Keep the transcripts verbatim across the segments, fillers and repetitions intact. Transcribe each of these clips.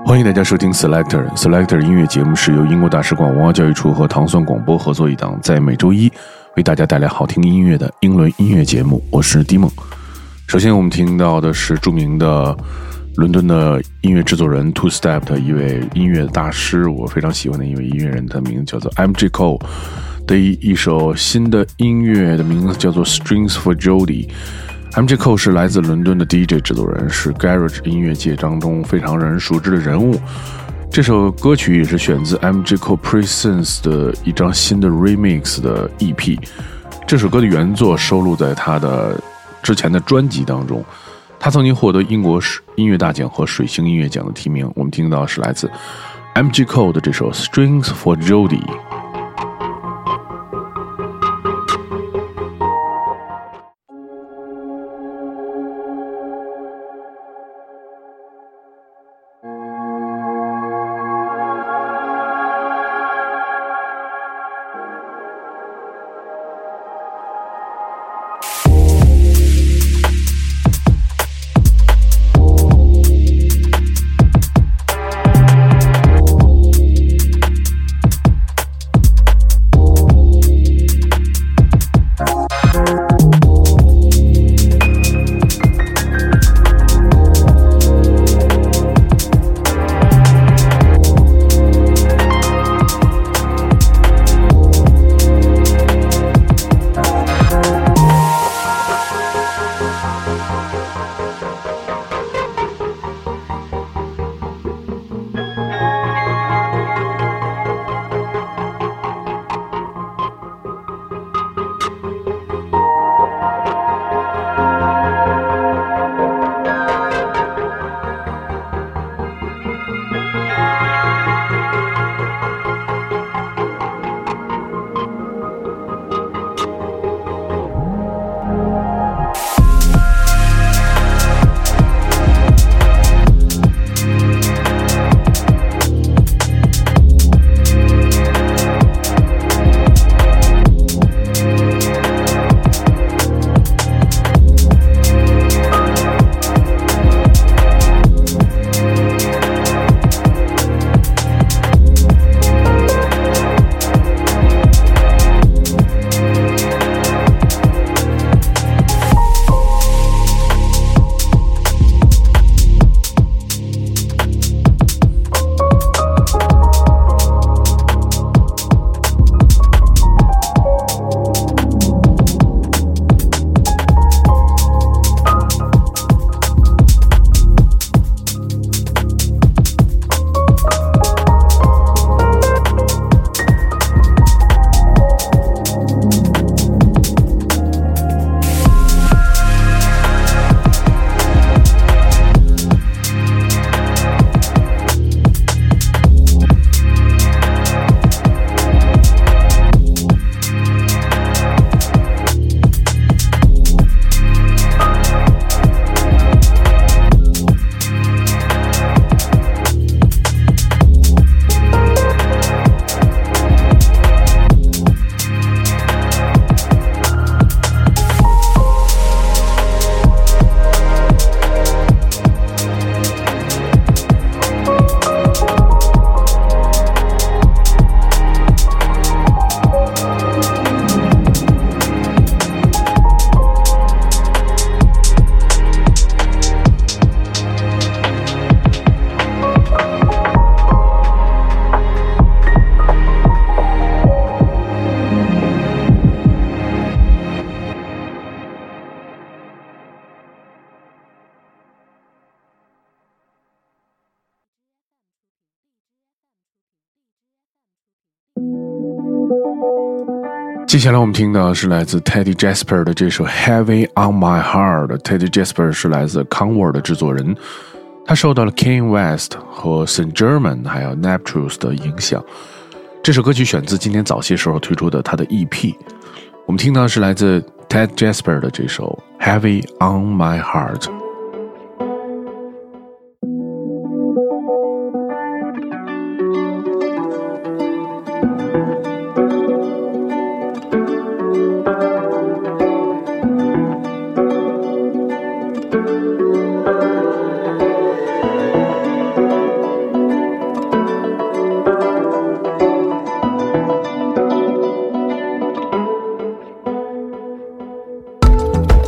欢迎大家收听 Selector Selector 音乐节目，是由英国大使馆文化教育处和糖蒜广播合作一档，在每周一为大家带来好听音乐的英伦音乐节目。我是迪梦。首先我们听到的是著名的伦敦的音乐制作人 Two Step 的一位音乐大师，我非常喜欢的一位音乐人，他的名字叫做 M J Cole 的一一首新的音乐的名字叫做 Strings for Jody。M J Cole 是来自伦敦的 D J 制作人，是 Garage 音乐界当中非常让人熟知的人物。这首歌曲也是选自 M J Cole Presents 的一张新的 Remix 的 E P。 这首歌的原作收录在他的之前的专辑当中，他曾经获得英国音乐大奖和水星音乐奖的提名。我们听到的是来自 M J Cole 的这首 Strings for Jody。接下来我们听到是来自 Teddy Jasper 的这首 Heavy on My Heart。 Teddy Jasper 是来自 Conword 的制作人，他受到了 Kanye West 和 Saint Germain 还有 Neptunes 的影响。这首歌曲选自今年早些时候推出的他的 E P。 我们听到的是来自 Teddy Jasper 的这首 Heavy on My Heart。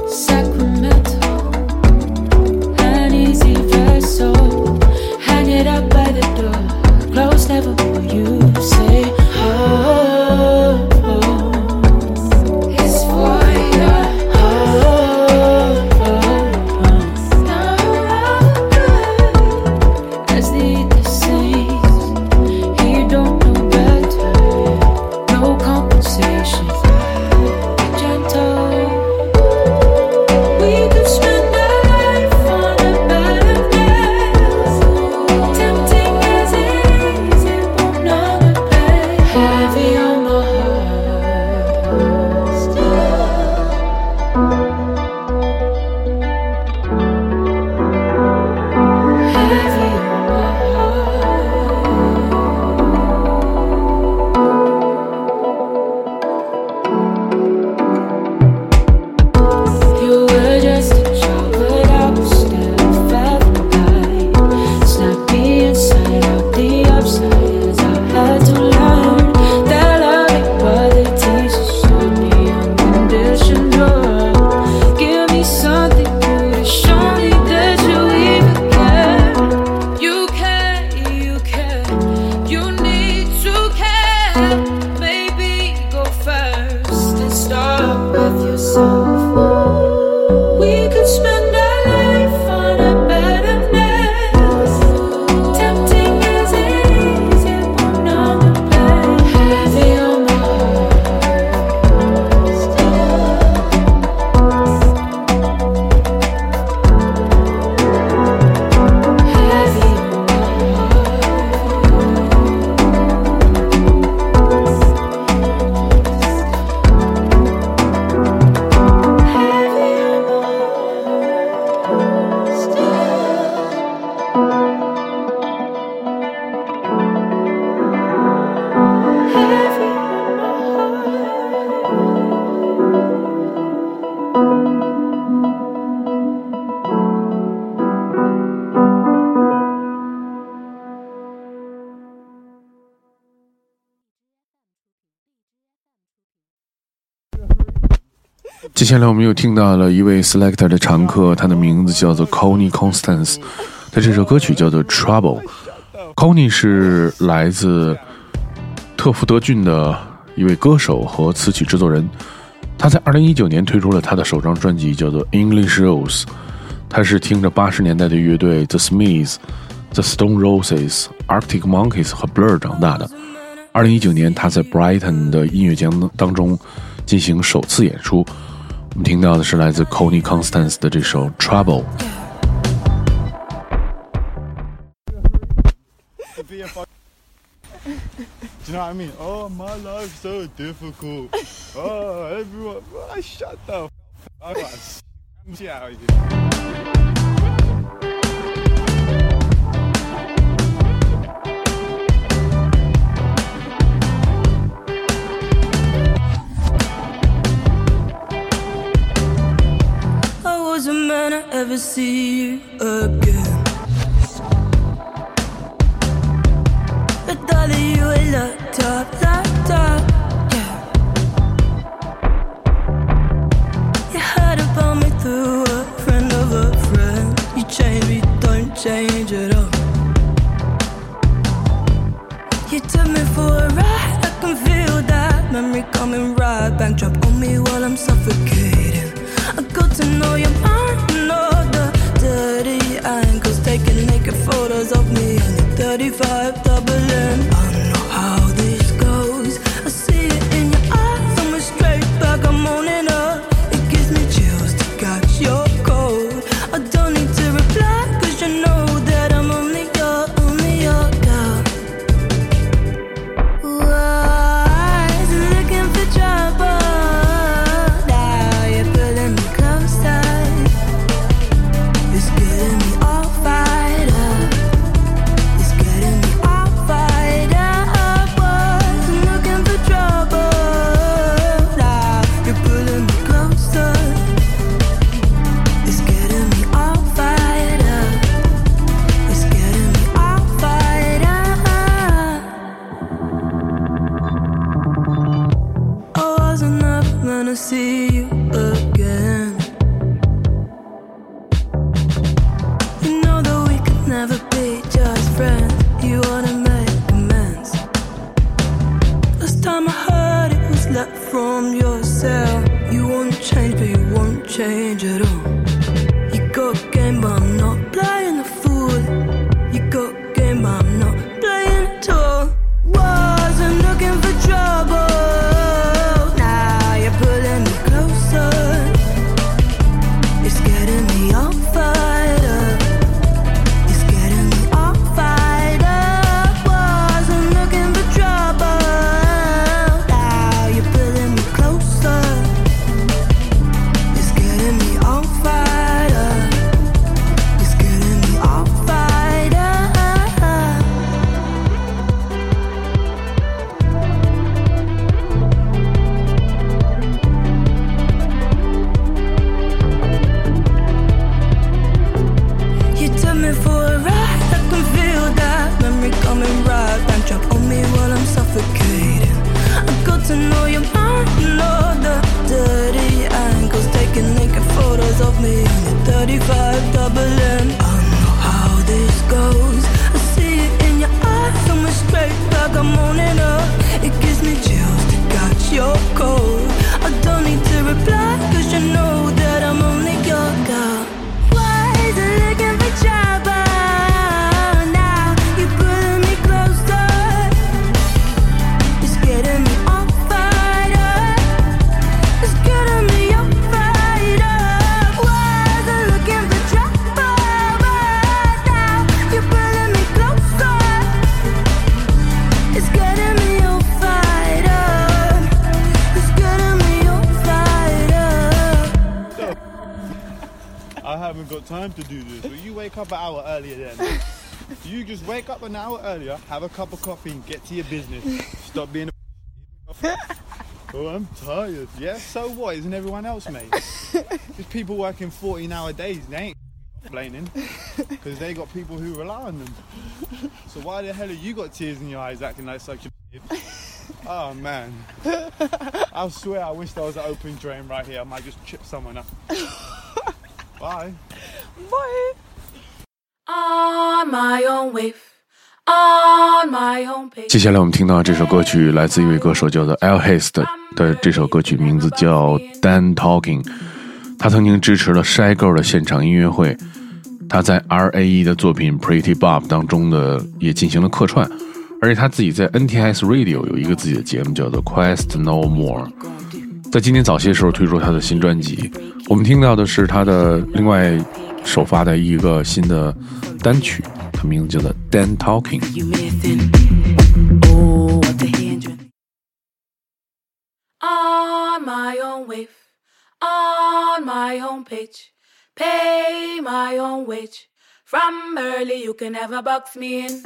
接下来我们又听到了一位 Selector 的常客，他的名字叫做 Connie Constance， 他这首歌曲叫做 Trouble。Connie 是来自特福德郡的一位歌手和词曲制作人，他在二零一九年推出了他的首张专辑叫做 English Rose。 他是听着八十年代的乐队 The Smiths、The Stone Roses、Arctic Monkeys 和 Blur 长大的。二零一九年他在 Brighton 的音乐节目当中进行首次演出，我们听到的是来自 Connie Constance 的这首 Trouble。 Do you know what I mean? Oh, my life's so difficult. Oh, everyone, oh, shut the f*** up. I'm shit out of here. Doesn't matter ever see you again. But darling, you ain't locked up, locked up, yeah. You heard about me through a friend of a friend. You change me, don't change at all. You took me for a ride, I can feel that memory coming right back. Drop on me while I'm suffocating. I got to know your mind, know the dirty angles, taking naked photos of me and the thirty-five doubling. I know how this goes, I see it in your eyes. I'm a straight back, I'm owning up. It gives me chills to catch your cold. I don't need to reply, cause you know that change at all. You got game, but I'm not playing the fool. You got game, but I'm not playing at all. Wasn't looking for trouble. Now you're pulling me closer. It's getting me all fired up. It's getting me all fired up. Wasn't looking for trouble. Now you're pulling me closer. It's getting me all fired up. It's getting me all fired up. You took me for a ride, I can feel that memory coming right back, drop on me while I'm suffocating. I got to know your mind, know the dirty angles, taking naked photos of me on your thirty-five double M. I know how this goes. I see it in your eyes, I'm a straight back, I'm owning up. It gives me chills to catch your cold. I don't need to reply, cause you know that I'm only your girl. Why is it looking for trouble? Now you're pulling me closer. It's getting me all fired up. It's getting me all fired up. Why is it looking for trouble? Now you're pulling me closer. It's getting me all fired up. It's getting me all fired up. I haven't got time to do this. Will you wake up an hour earlier then? You just wake up an hour earlier, have a cup of coffee and get to your business. Stop being a Oh, I'm tired. Yeah, so what? Isn't everyone else, mate? There's people working fourteen hour days, they ain't complaining. Because they got people who rely on them. So why the hell have you got tears in your eyes acting like such a Oh man. I swear I wish there was an open drain right here. I might just chip someone up. Bye. Bye. On my own wave, on my own page. 接下来我们听到这首歌曲来自一位歌手叫做 Al Hayes 的, 的这首歌曲名字叫 Dan Talking。 他曾经支持了 Shy Girl 的现场音乐会，他在 R A E 的作品 Pretty Bob 当中的也进行了客串，而且他自己在 N T S Radio 有一个自己的节目叫做 Quest No More。 在今年早些时候推出他的新专辑，我们听到的是他的另外首发的一个新的单曲，它名字叫做 Dan Talking。 On my own wave, on my own page, pay my own wage. From early you can never box me in.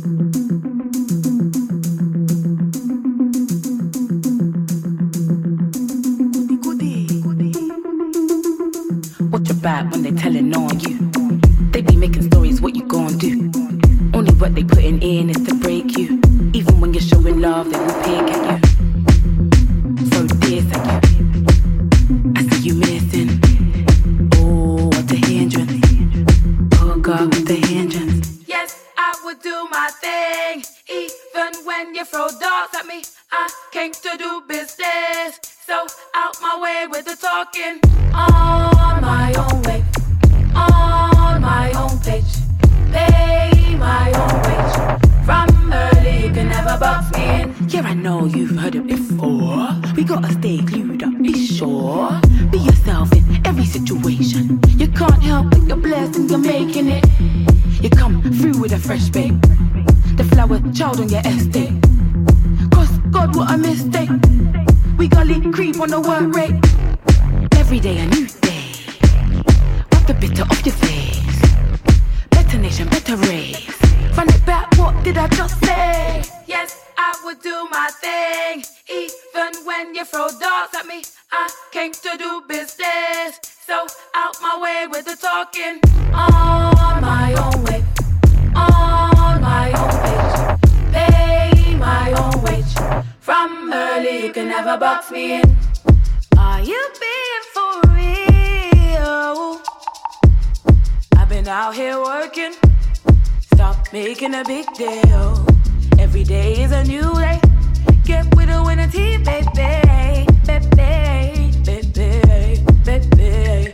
Watch your back when they telling on you. They be making stories what you gon' do. Only what they putting in is to break you. Even when you're showing love, they will pick at you. So this at you, I see you missing. Oh, what the hindrance. Oh God, what the hindrance. Yes, I would do my thing. Even when you throw darts at me, I came to do business. So out my way with the talking. On my own way, on my own page, pay my own wage. From early you can never box me in. Yeah, I know you've heard it before. We gotta stay glued up, be sure. Be yourself in every situation. You can't help but you're blessed and you're making it. You come through with a fresh babe, the flower child on your estate. Cross God, what a mistake. We gully creep on the work rate. Every day a new day. Wipe the bitter off your face. Better nation, better race. Run it back, what did I just say? Yes, I would do my thing. Even when you throw darts at me, I came to do business. So out my way with the talking. On my own way, on my own page, pay my own wage. From early you can never box me in. Are you being for real? I've been out here working. Stop making a big deal. Every day is a new day. Get with a winning team, baby, baby, baby, baby.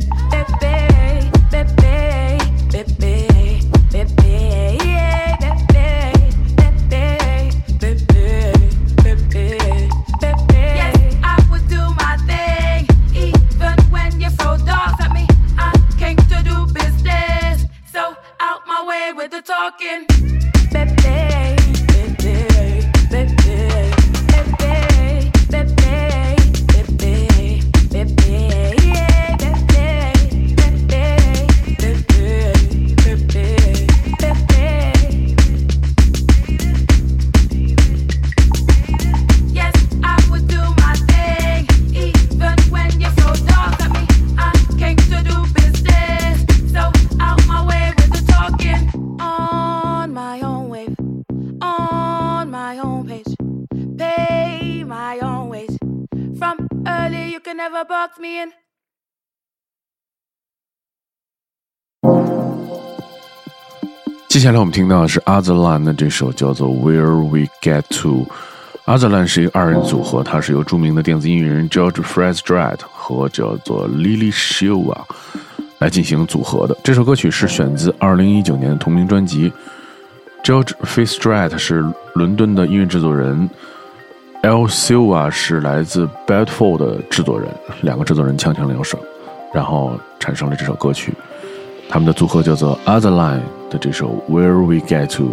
talking. Baby, baby, baby, baby, baby, baby, baby, yeah, baby, baby, baby, baby, baby. Yes, I would do my thing, even when you're so dark at me. I came to do business, so out my way with the talking. On my own wave, on my own pace, pay my own ways. From early, you can never box me in. 接下来我们听到的是 Otherland 的这首叫做 Where We Get To。Otherland 是一个二人组合，它是由著名的电子音乐人 George Frizzdratt 和叫做 Lily Shewa 来进行组合的。这首歌曲是选自二零一九年的同名专辑。George Frizzdratt 是伦敦的音乐制作人， L. Shewa 是来自 Bedford 的制作人，两个制作人锵锵两手，然后产生了这首歌曲。他们的组合叫做 Otherland 的这首 Where We Get To。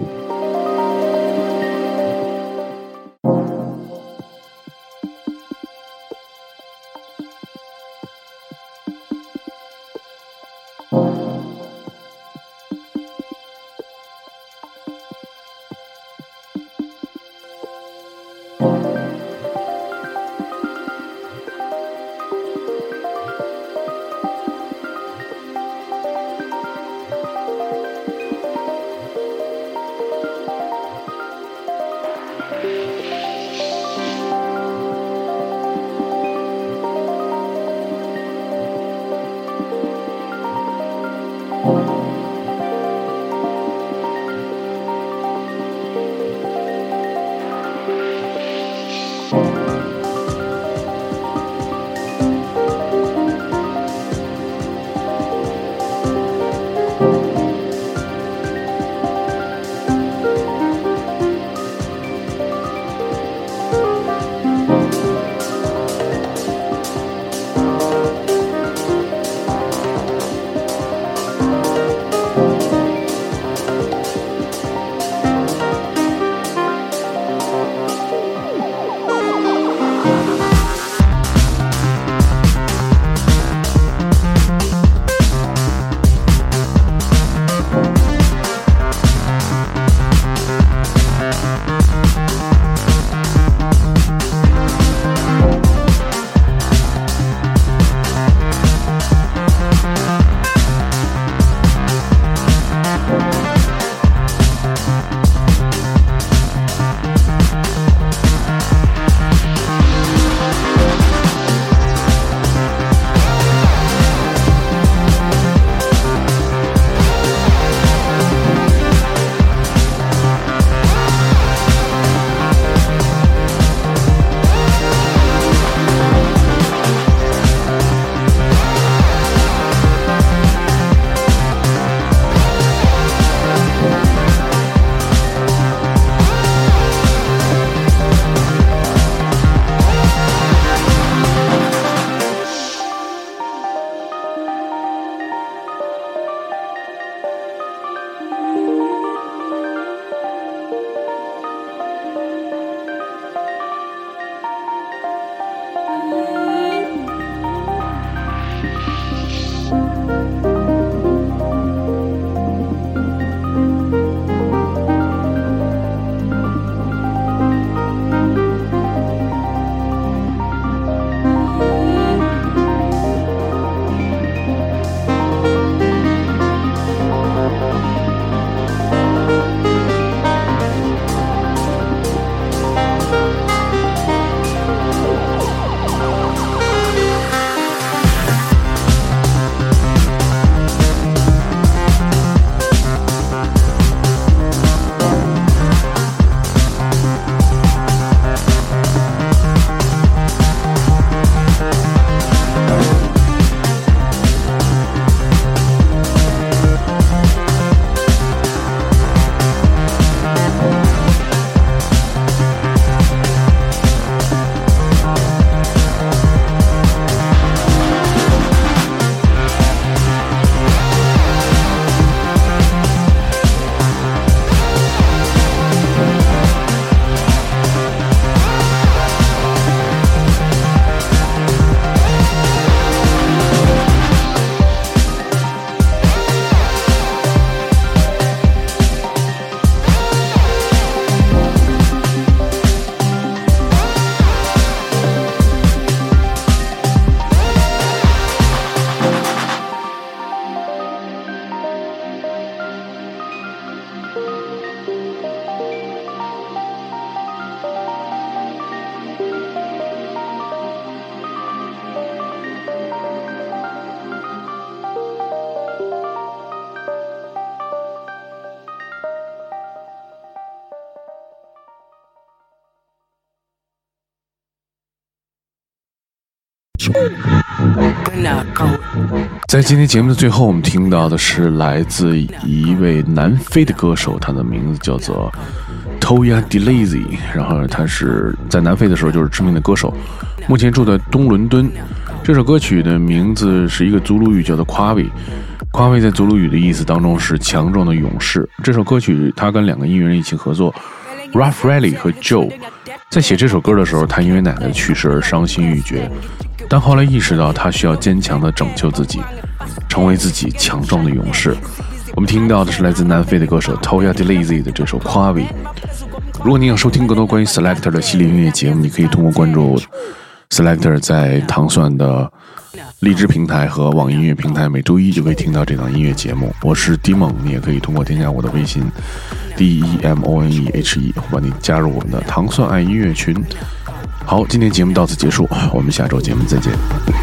在今天节目的最后，我们听到的是来自一位南非的歌手，他的名字叫做 Toya Delezi， 然后他是在南非的时候就是知名的歌手，目前住在东伦敦。这首歌曲的名字是一个祖鲁语，叫做 Kwavi。 Kwavi 在祖鲁语的意思当中是强壮的勇士。这首歌曲他跟两个音乐人一起合作， Ralph Riley 和 Joe。 在写这首歌的时候，他因为奶奶去世而伤心欲绝，但后来意识到他需要坚强地拯救自己，成为自己强壮的勇士。我们听到的是来自南非的歌手 Toya Delezi 的这首 Kwavi。 如果你想收听更多关于 Selector 的系列音乐节目，你可以通过关注 Selector 在糖蒜的荔枝平台和网易音乐平台，每周一就可以听到这档音乐节目。我是 D 梦，你也可以通过添加我的微信 D E M O N E H E 把你加入我们的糖蒜爱音乐群。好，今天节目到此结束，我们下周节目再见。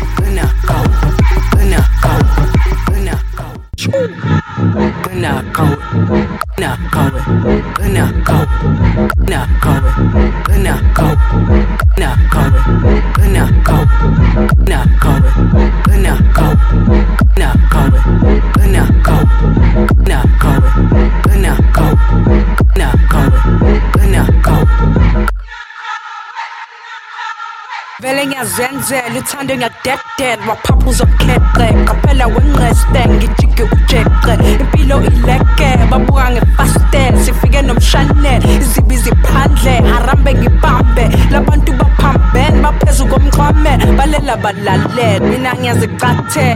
Velenga zenze luthando ngiyadeded waphaphuza okheqe qaphela wenqeste ngijike ujeqe impilo ileke babuka ngefastel sifike nomshane izibi ziphandle harambe ngibambe labantu baphambene baphezu komqhame balela balalela mina ngiyazicathe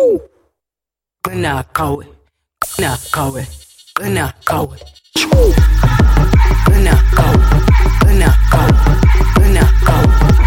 qina qawe qina qawe qina qawe qina qawe qina qawe qina qawe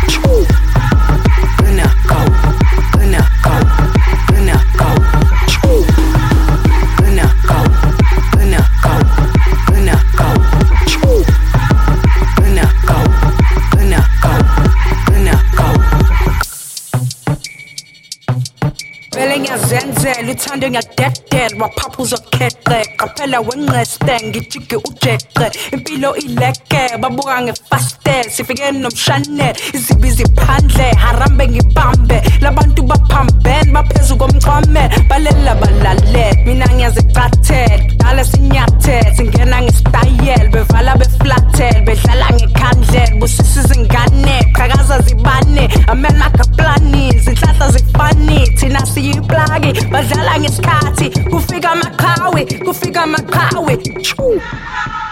zenze luthando ngiyadeded waphaphuza okheqe qaphela wenqeste ngijike ujeqe impilo ileke babuka ngefastel sifike nomshane izibi ziphandle harambe ngibambe labantu baphambene baphezu komqhame balela balalela mina ngiyazicathe dala sinyathe singena ngesitayel bevala beflatel bedlala ngekhandlela busisi zingane qhakaza zibane amena kaplani zinhlahla zifani thina siyiplagi badlala ngesikhathi kufika amaqhawe kufika amaqhawe